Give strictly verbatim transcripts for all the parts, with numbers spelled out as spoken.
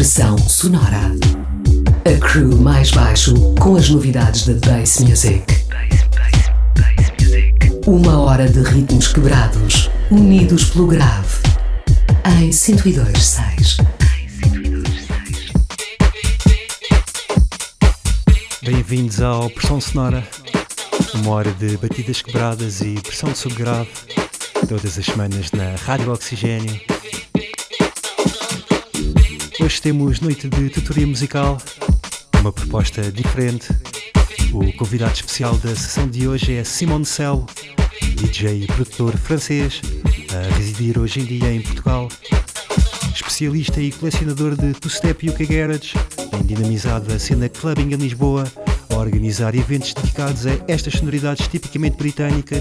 Estação Sonora. A crew mais baixo com as novidades da Bass Music. Bass, bass, bass music. Uma hora de ritmos quebrados, unidos pelo grave. Em cento e dois ponto seis. Bem-vindos ao Pressão Sonora. Uma hora de batidas quebradas e pressão de subgrave. Todas as semanas na Rádio Oxigênio. Hoje temos noite de tutoria musical, uma proposta diferente. O convidado especial da sessão de hoje é Simon Cell, D J e produtor francês, a residir hoje em dia em Portugal. Especialista e colecionador de two-step e U K Garage, tem dinamizado a cena clubbing em Lisboa, a organizar eventos dedicados a estas sonoridades tipicamente britânicas.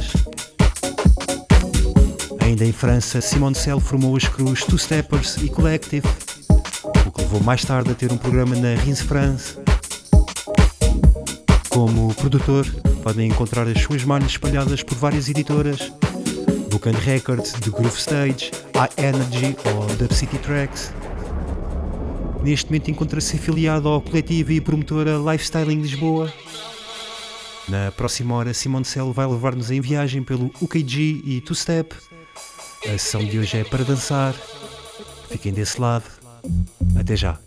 Ainda em França, Simon Cell formou os crews Two Steppers e Collective, o que levou mais tarde a ter um programa na Rins France. Como produtor, podem encontrar as suas malhas espalhadas por várias editoras, Book and Records, The Groove Stage, iEnergy ou Dub City Tracks. Neste momento encontra-se afiliado ao coletivo e promotora Lifestyling Lisboa. Na próxima hora, Simon Cell vai levar-nos em viagem pelo U K G e Two Step. A sessão de hoje é para dançar. Fiquem desse lado. Até já.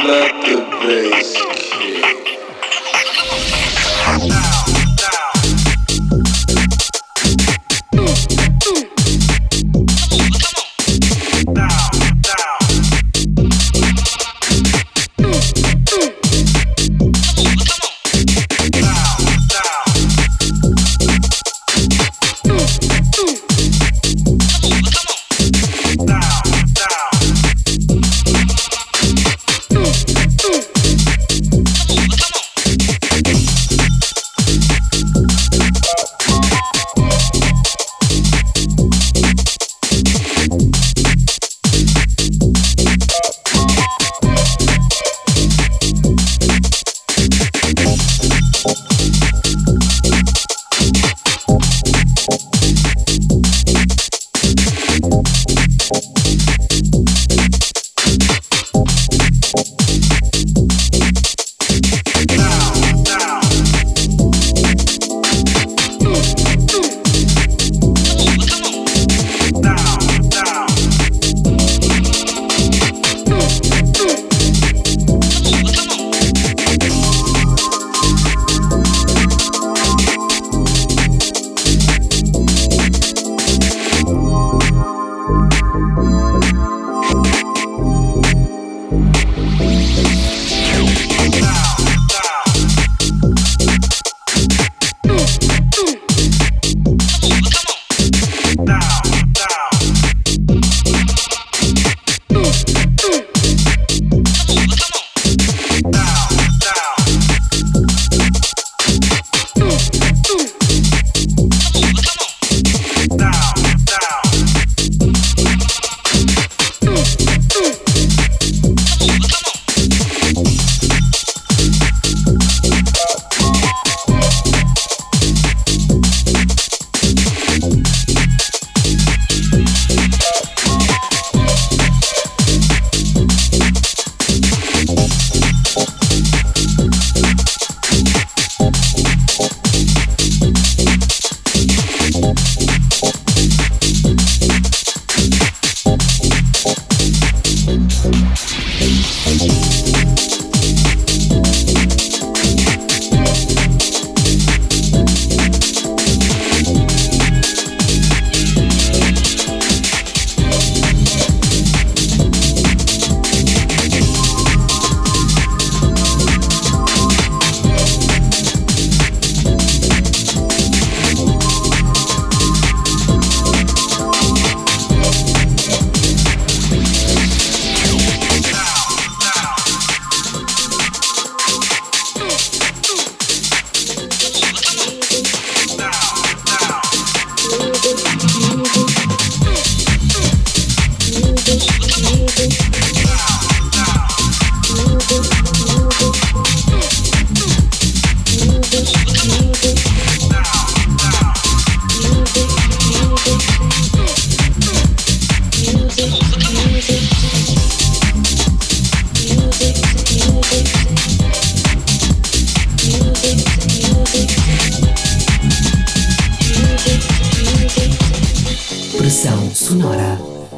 Pressão sonora.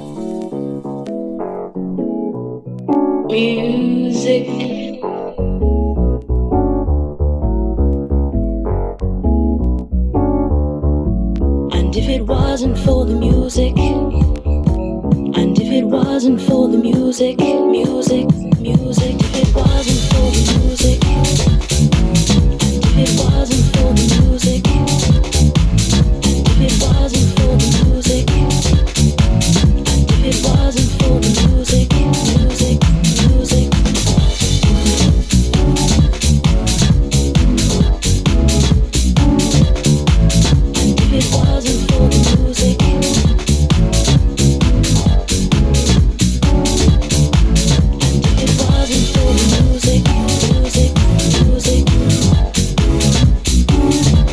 Music. And if it wasn't for the music, and if it wasn't for the music, music, music, if it wasn't for the music, and if it wasn't for the music, and if it wasn't for the music, and if it wasn't for the music, music, music. And if it wasn't for the music, music, music, music.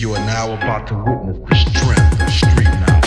You are now about to witness the strength of street knowledge.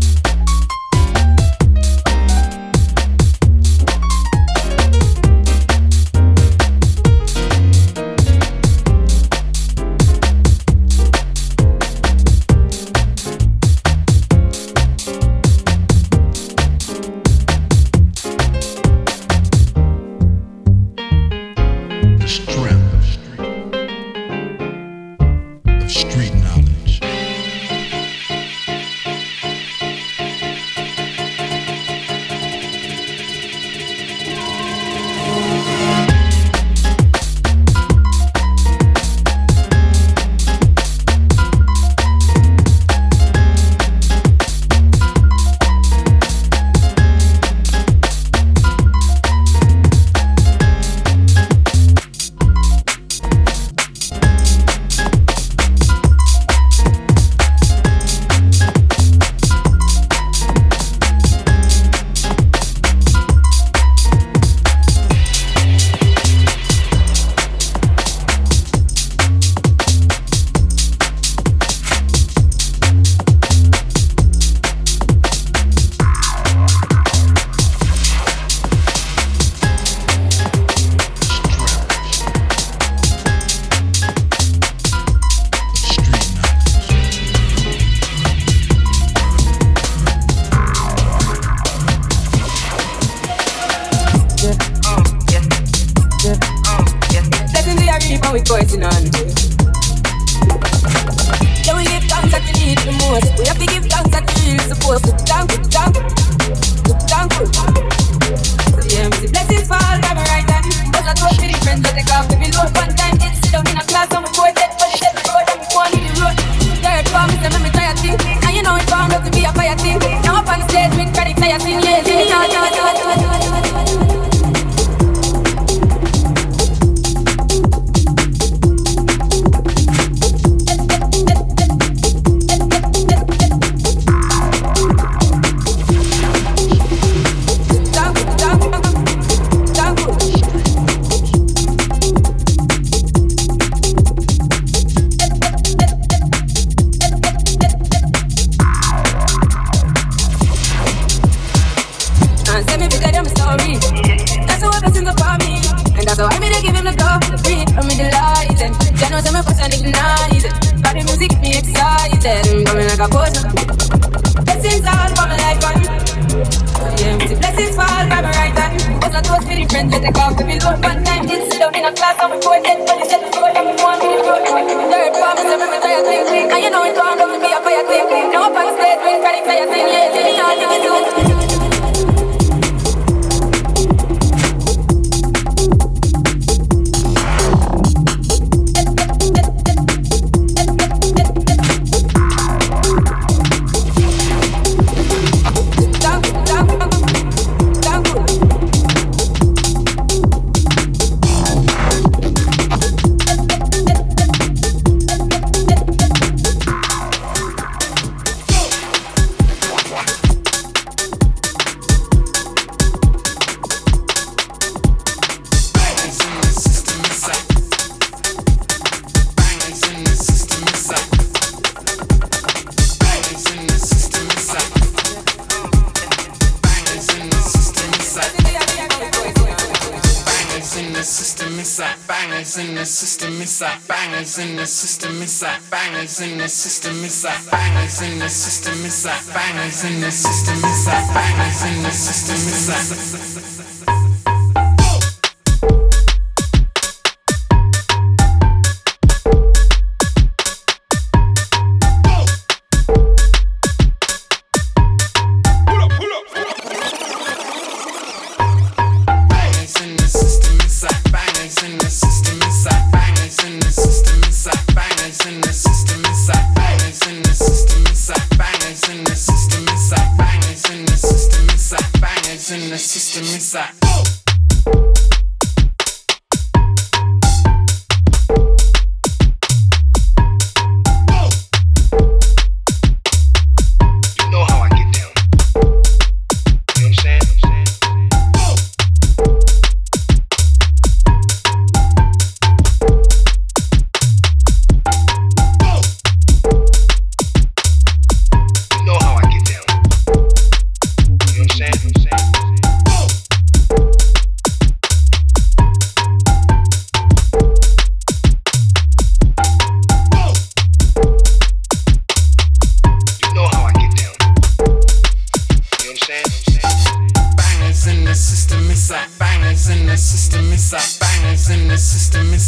in the system, it's like bangers in the system, it's like bangers in the system, it's like bangers in the system, it's like bangers in the system, it's like bangers in the system, it's like.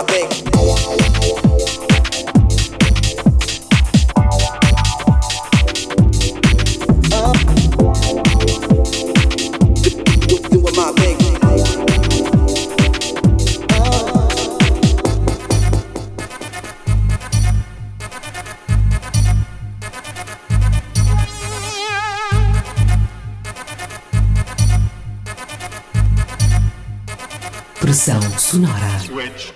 my thing. Pressão sonora. Switch.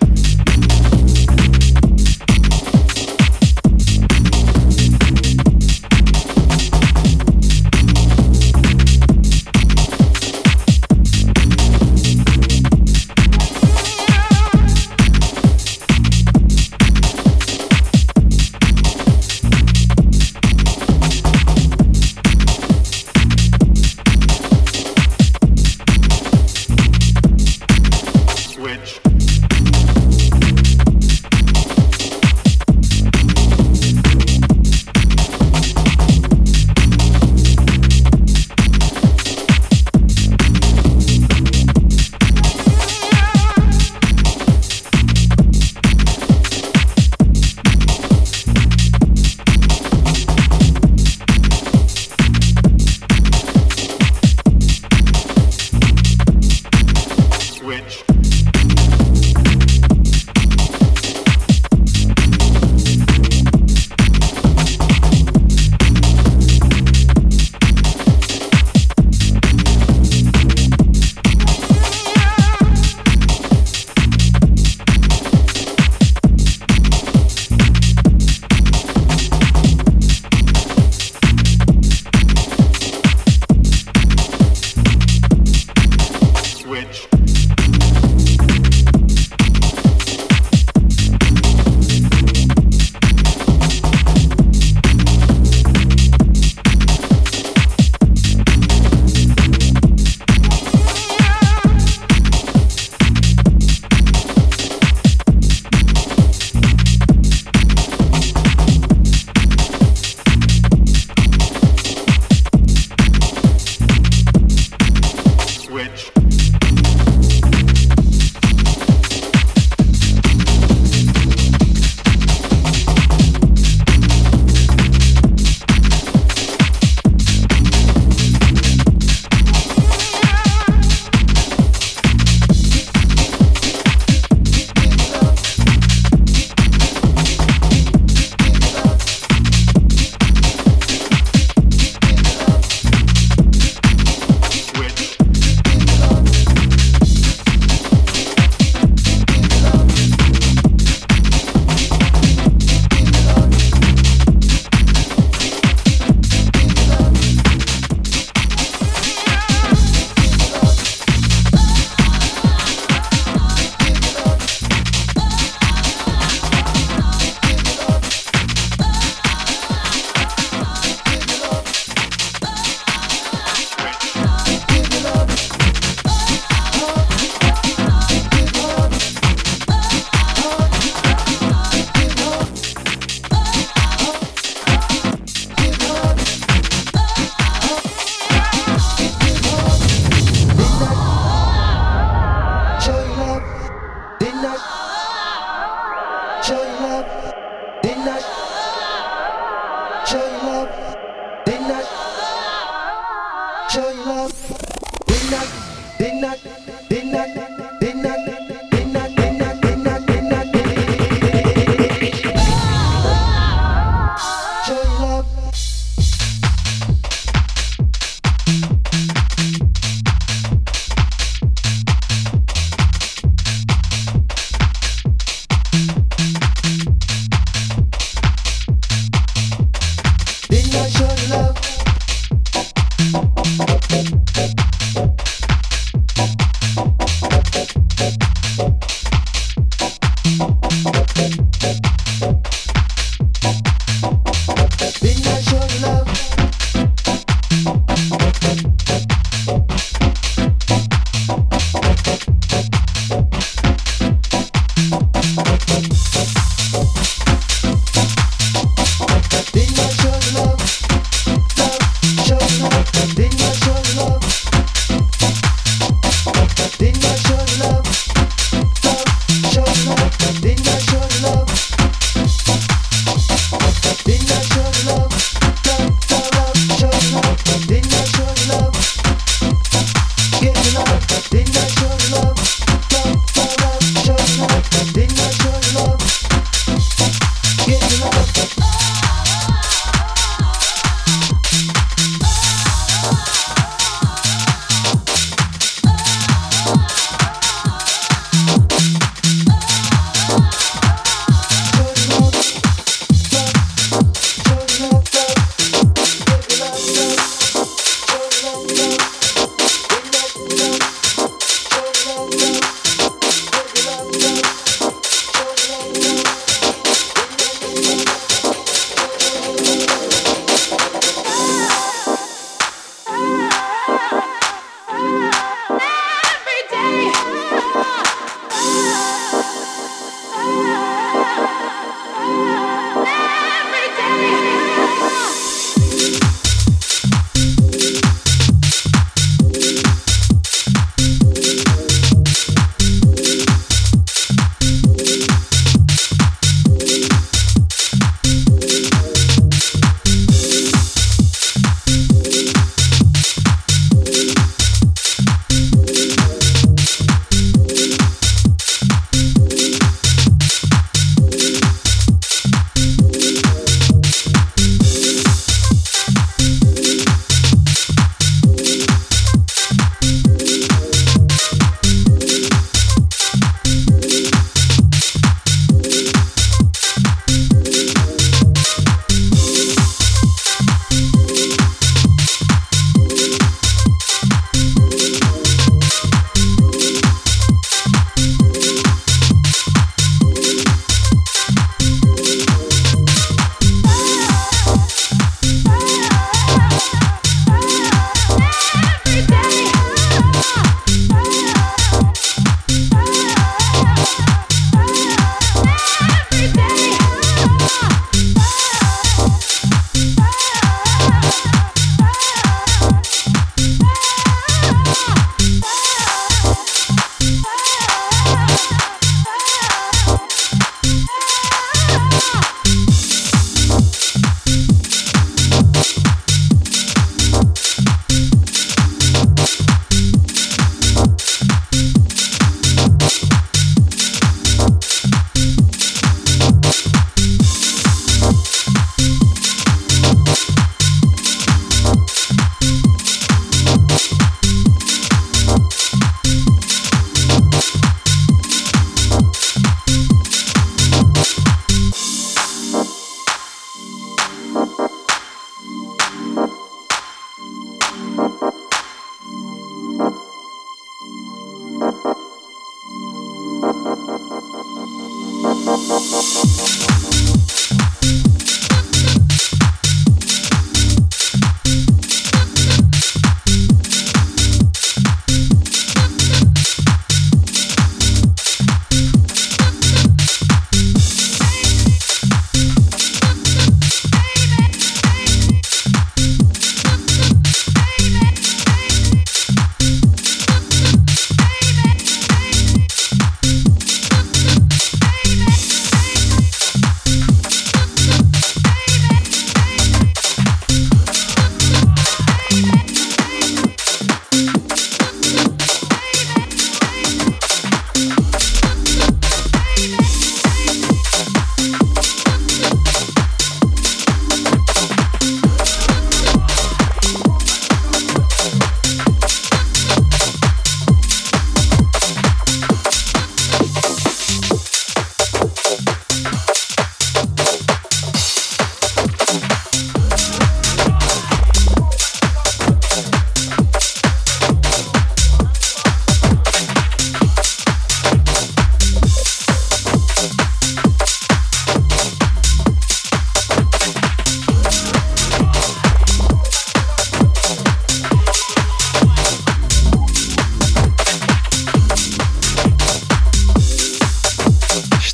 Show love, love, show love.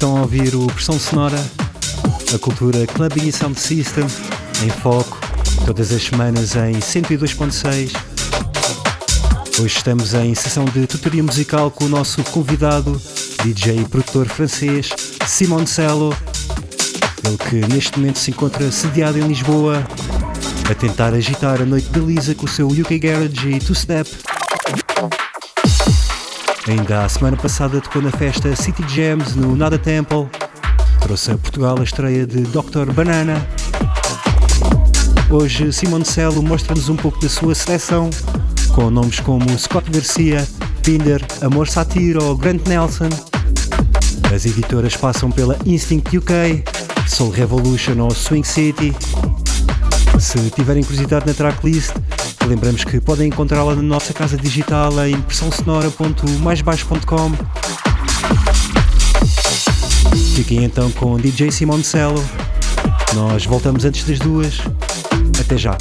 Estão a ouvir o Pressão Sonora, a cultura Clubbing e Sound System, em foco, todas as semanas em cento e dois ponto seis. Hoje estamos em sessão de tutoria musical com o nosso convidado, D J e produtor francês, Simon Cello, ele que neste momento se encontra sediado em Lisboa, a tentar agitar a noite de Lisa com o seu U K Garage e Two Step. Ainda a semana passada tocou na festa City Jams no Nada Temple, trouxe a Portugal a estreia de doutor Banana. Hoje Simon Cello mostra-nos um pouco da sua seleção, com nomes como Scott Garcia, Pinder, Amor Satir ou Grant Nelson. As editoras passam pela Instinct U K, Soul Revolution ou Swing City. Se tiverem curiosidade na tracklist, lembramos que podem encontrá-la na nossa casa digital em pressão sonora ponto mais baixo ponto com. Fiquem então com D J Simon Cello. Nós voltamos antes das duas. Até já.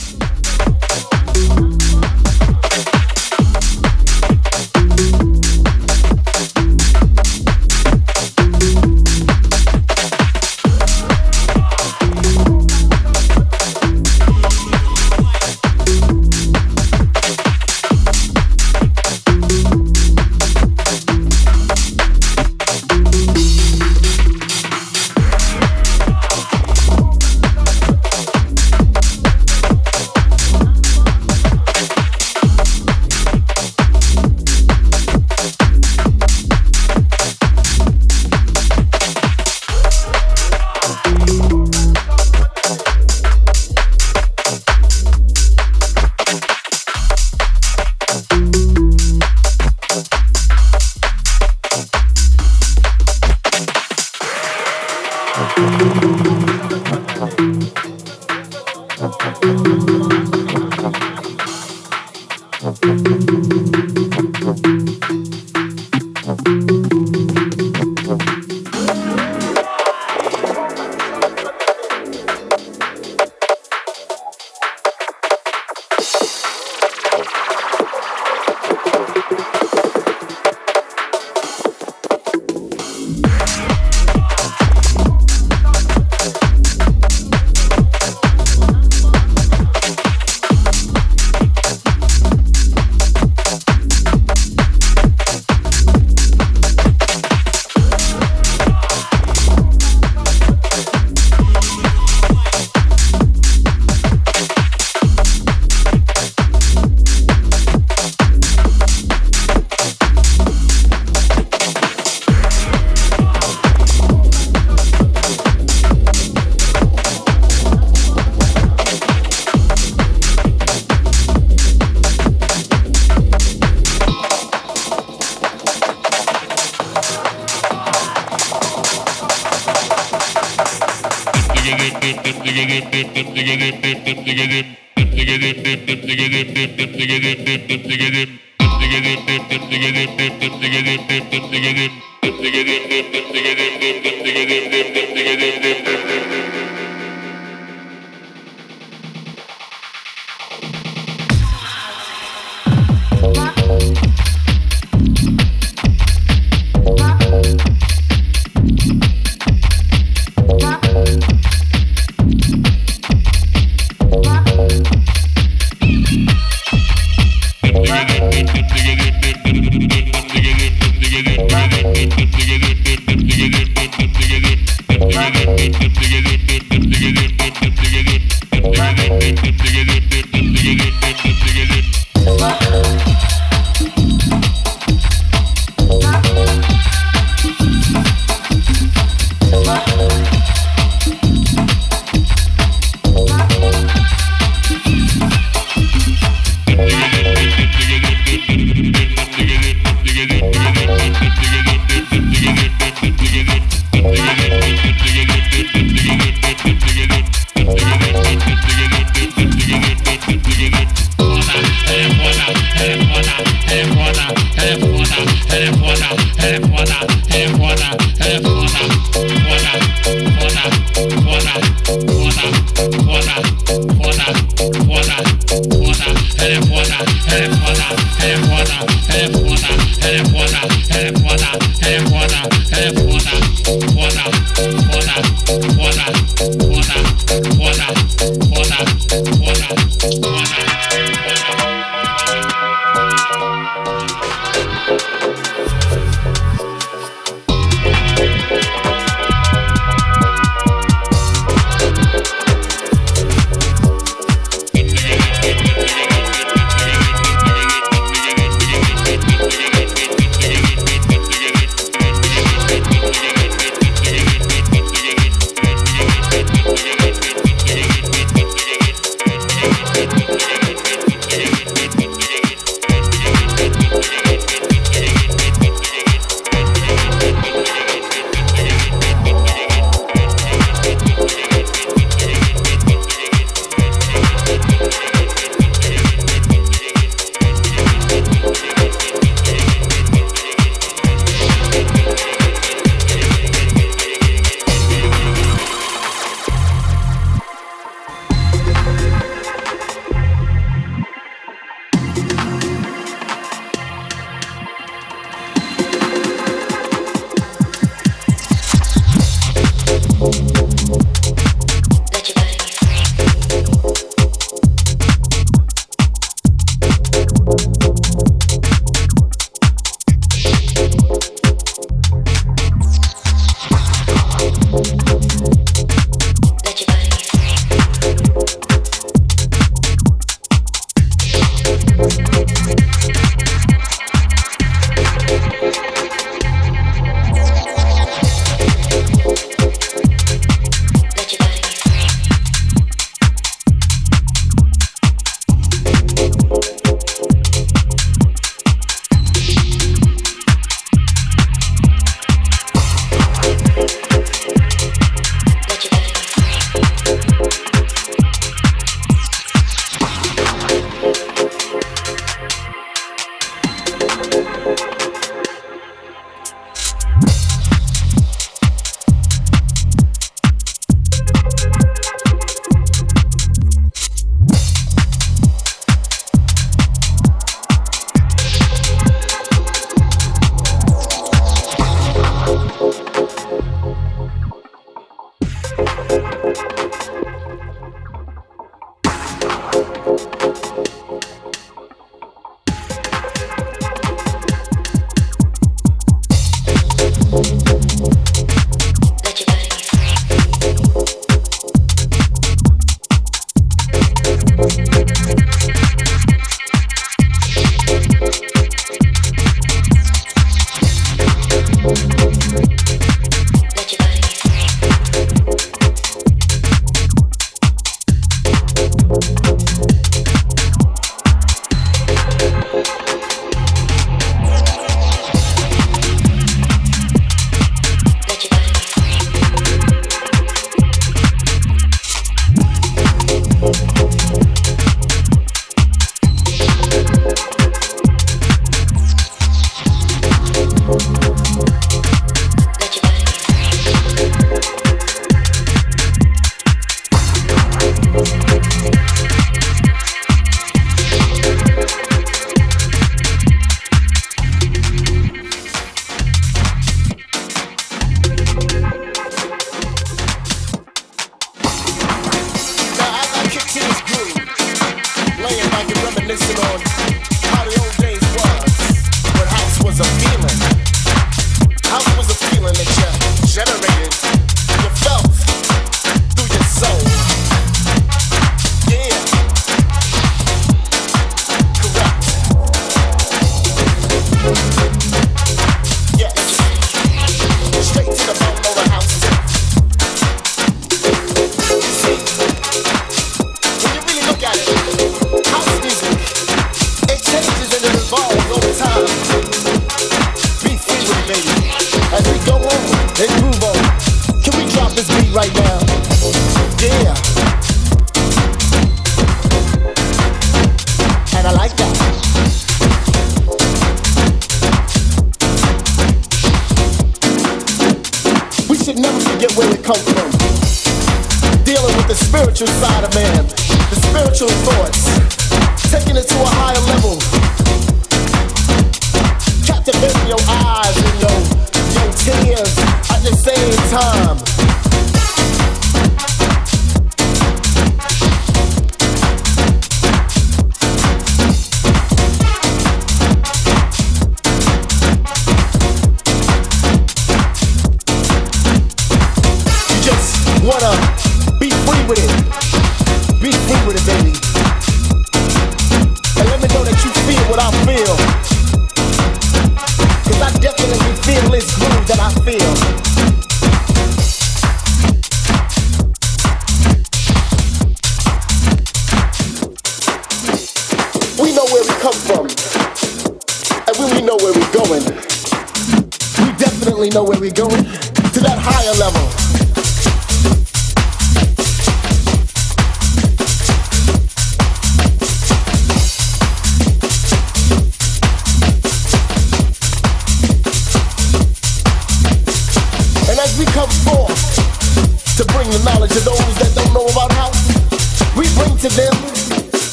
Water,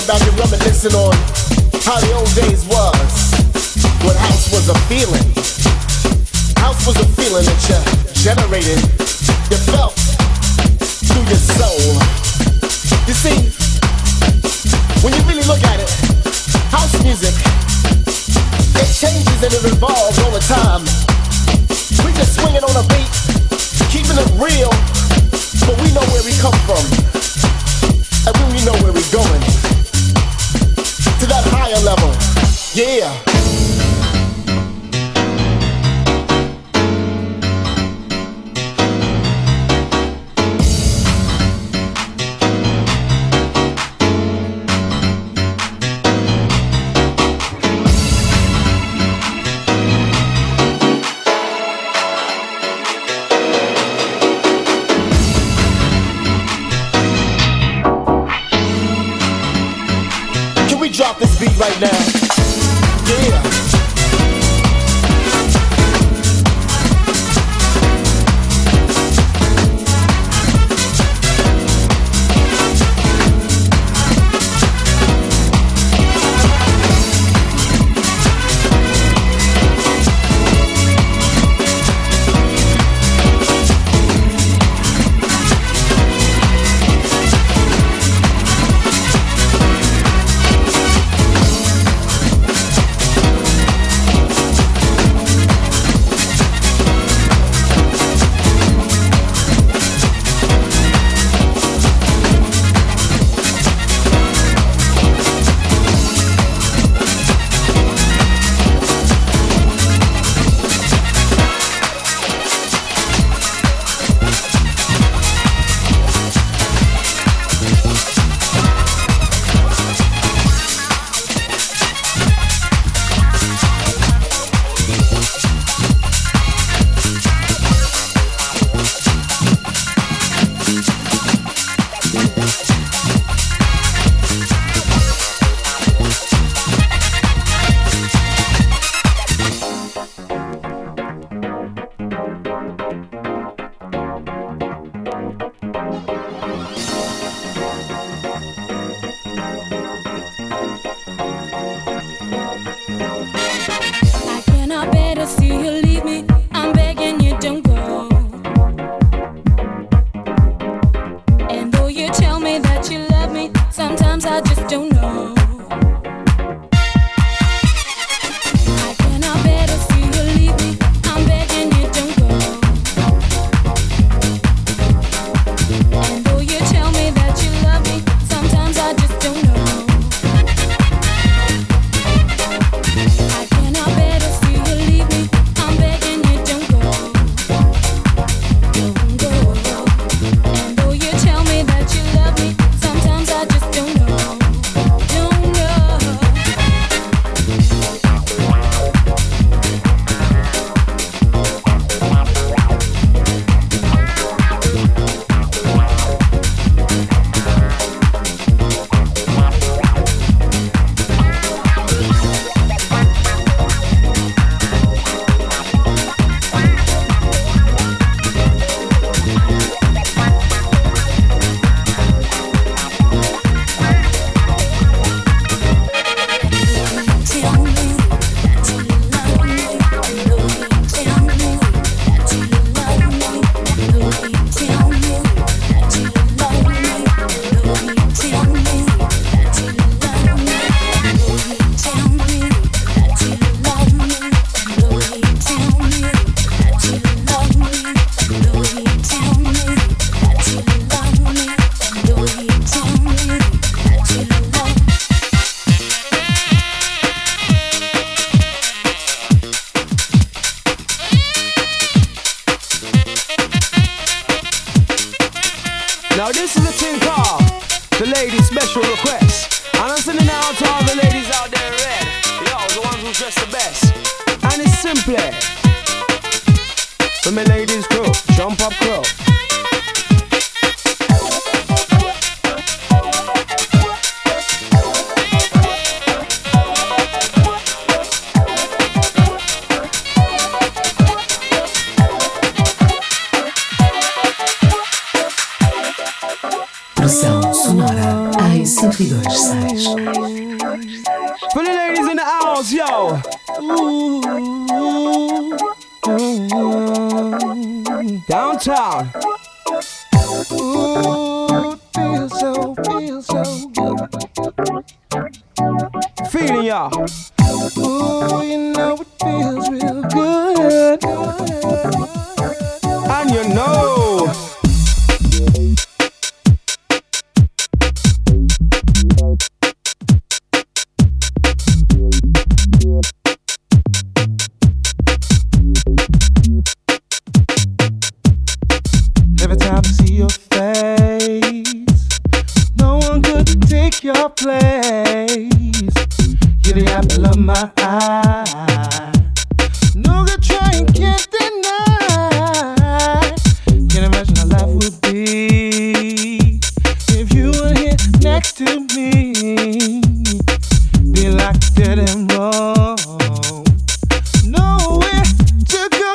back and reminiscing on how the old days was, when house was a feeling. House was a feeling that you generated, you felt through your soul. You see, when you really look at it, house music, it changes and it evolves all the time. We just swinging on a beat, keeping it real, but we know where we come from, and when we know where we're going, to that higher level, yeah. Drop this beat right now. Yeah. Now this is a thing called the ladies special request. And I'm sending out to all the ladies out there in red. Yo, the ones who dress the best. And it's simply for my ladies crew, jump up crew. Pressão sonora em cento e dois ponto seis. For the ladies in the house, yo. Downtown. Ooh, it feels so, feels so good. Feeling y'all. Ooh, you know it feels real good. And you know. Every time I see your face, no one could take your place. You're the apple of my eye. No good trying, can't deny. Can't imagine how life would be if you were here next to me. Be like dead and wrong, nowhere to go.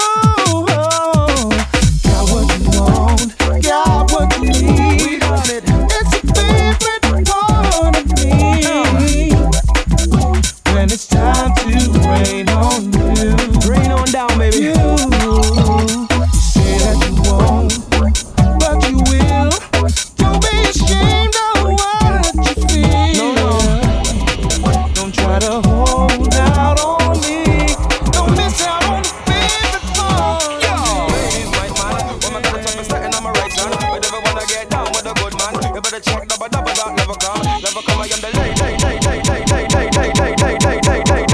Got what you want, got what you need. We got it. It's a favorite part of me. When it's time to rain on you, rain on down, baby. You, you say that you won't, but you will. Don't be ashamed of what you feel. No, no. Don't try to hold out on me. Don't miss out on the favorite part. Yo, ladies, my man, when my got a top setting on my right hand, but if I wanna get down with a good man, you better check double double that never come, never come. I am the lady, lady, lady, lady, lady, lady, lady, lady, lady, lady.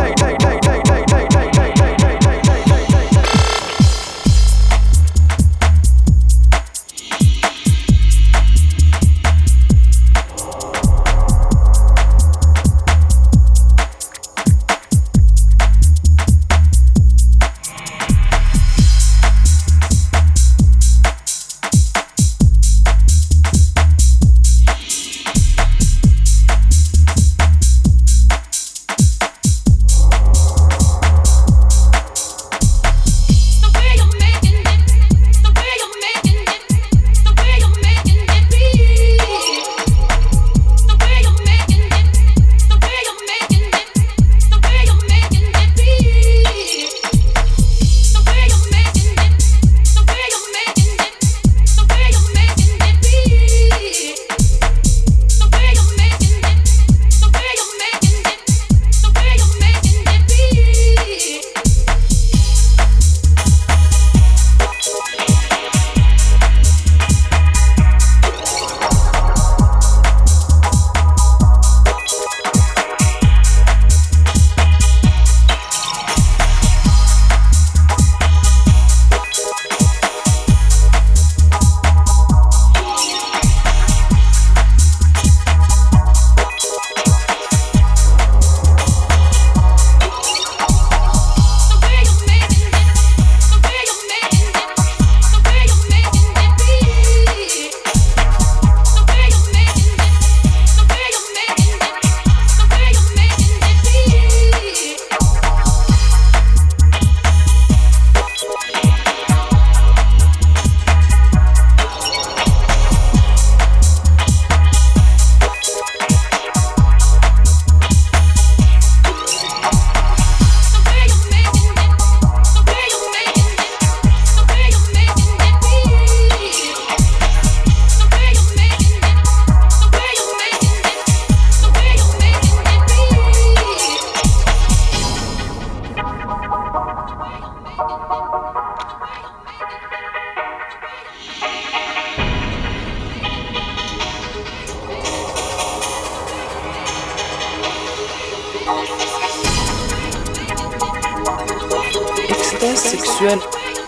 Extase sexuelle.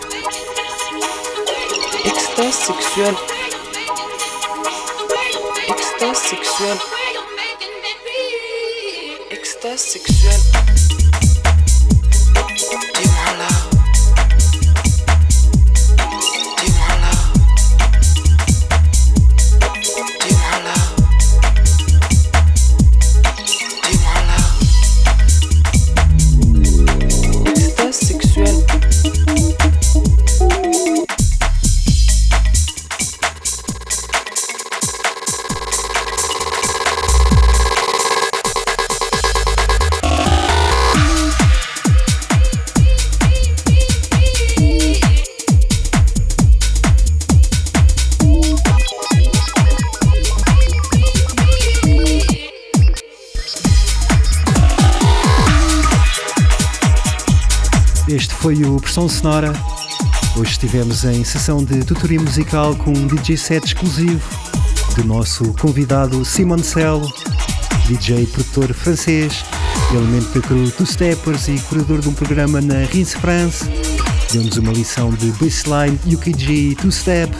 Extase sexuelle. Extase sexuelle. Extase sexuelle. Dis-moi là. Dis-moi là. Dis-moi là. Dis-moi là. Extase sexuelle. Este foi o Pressão Sonora. Hoje estivemos em sessão de tutoria musical com um D J set exclusivo do nosso convidado Simon Cell, D J produtor francês, elemento da crew Two Steppers e curador de um programa na Rinse France. Deu-nos uma lição de bassline, U K G e Two Step.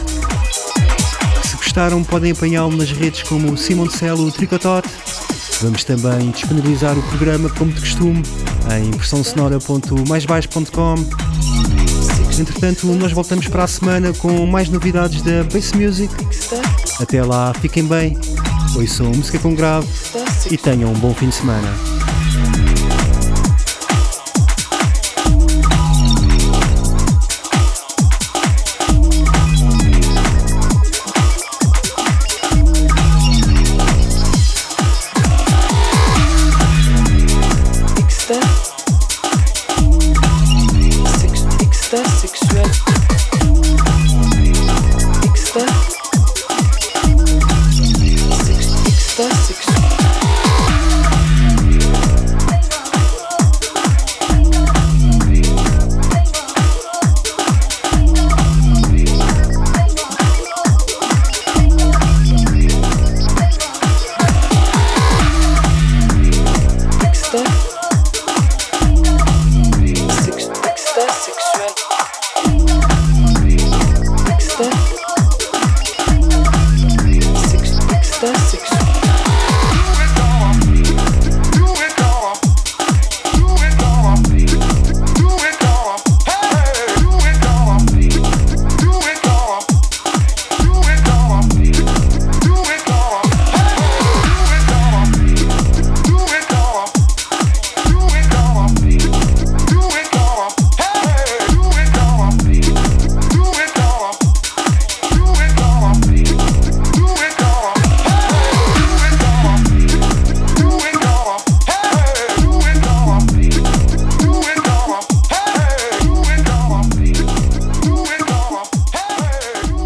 Se gostaram, podem apanhá-lo nas redes como Simon Cell, o Tricotote. Vamos também disponibilizar o programa como de costume em pressão sonora ponto mais baixo ponto com. Entretanto, nós voltamos para a semana com mais novidades da Bass Music. Até lá, fiquem bem, ouçam música com grave e tenham um bom fim de semana.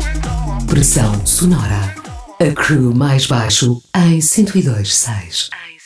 Pressão Sonora. A crew mais baixo em cento e dois ponto seis.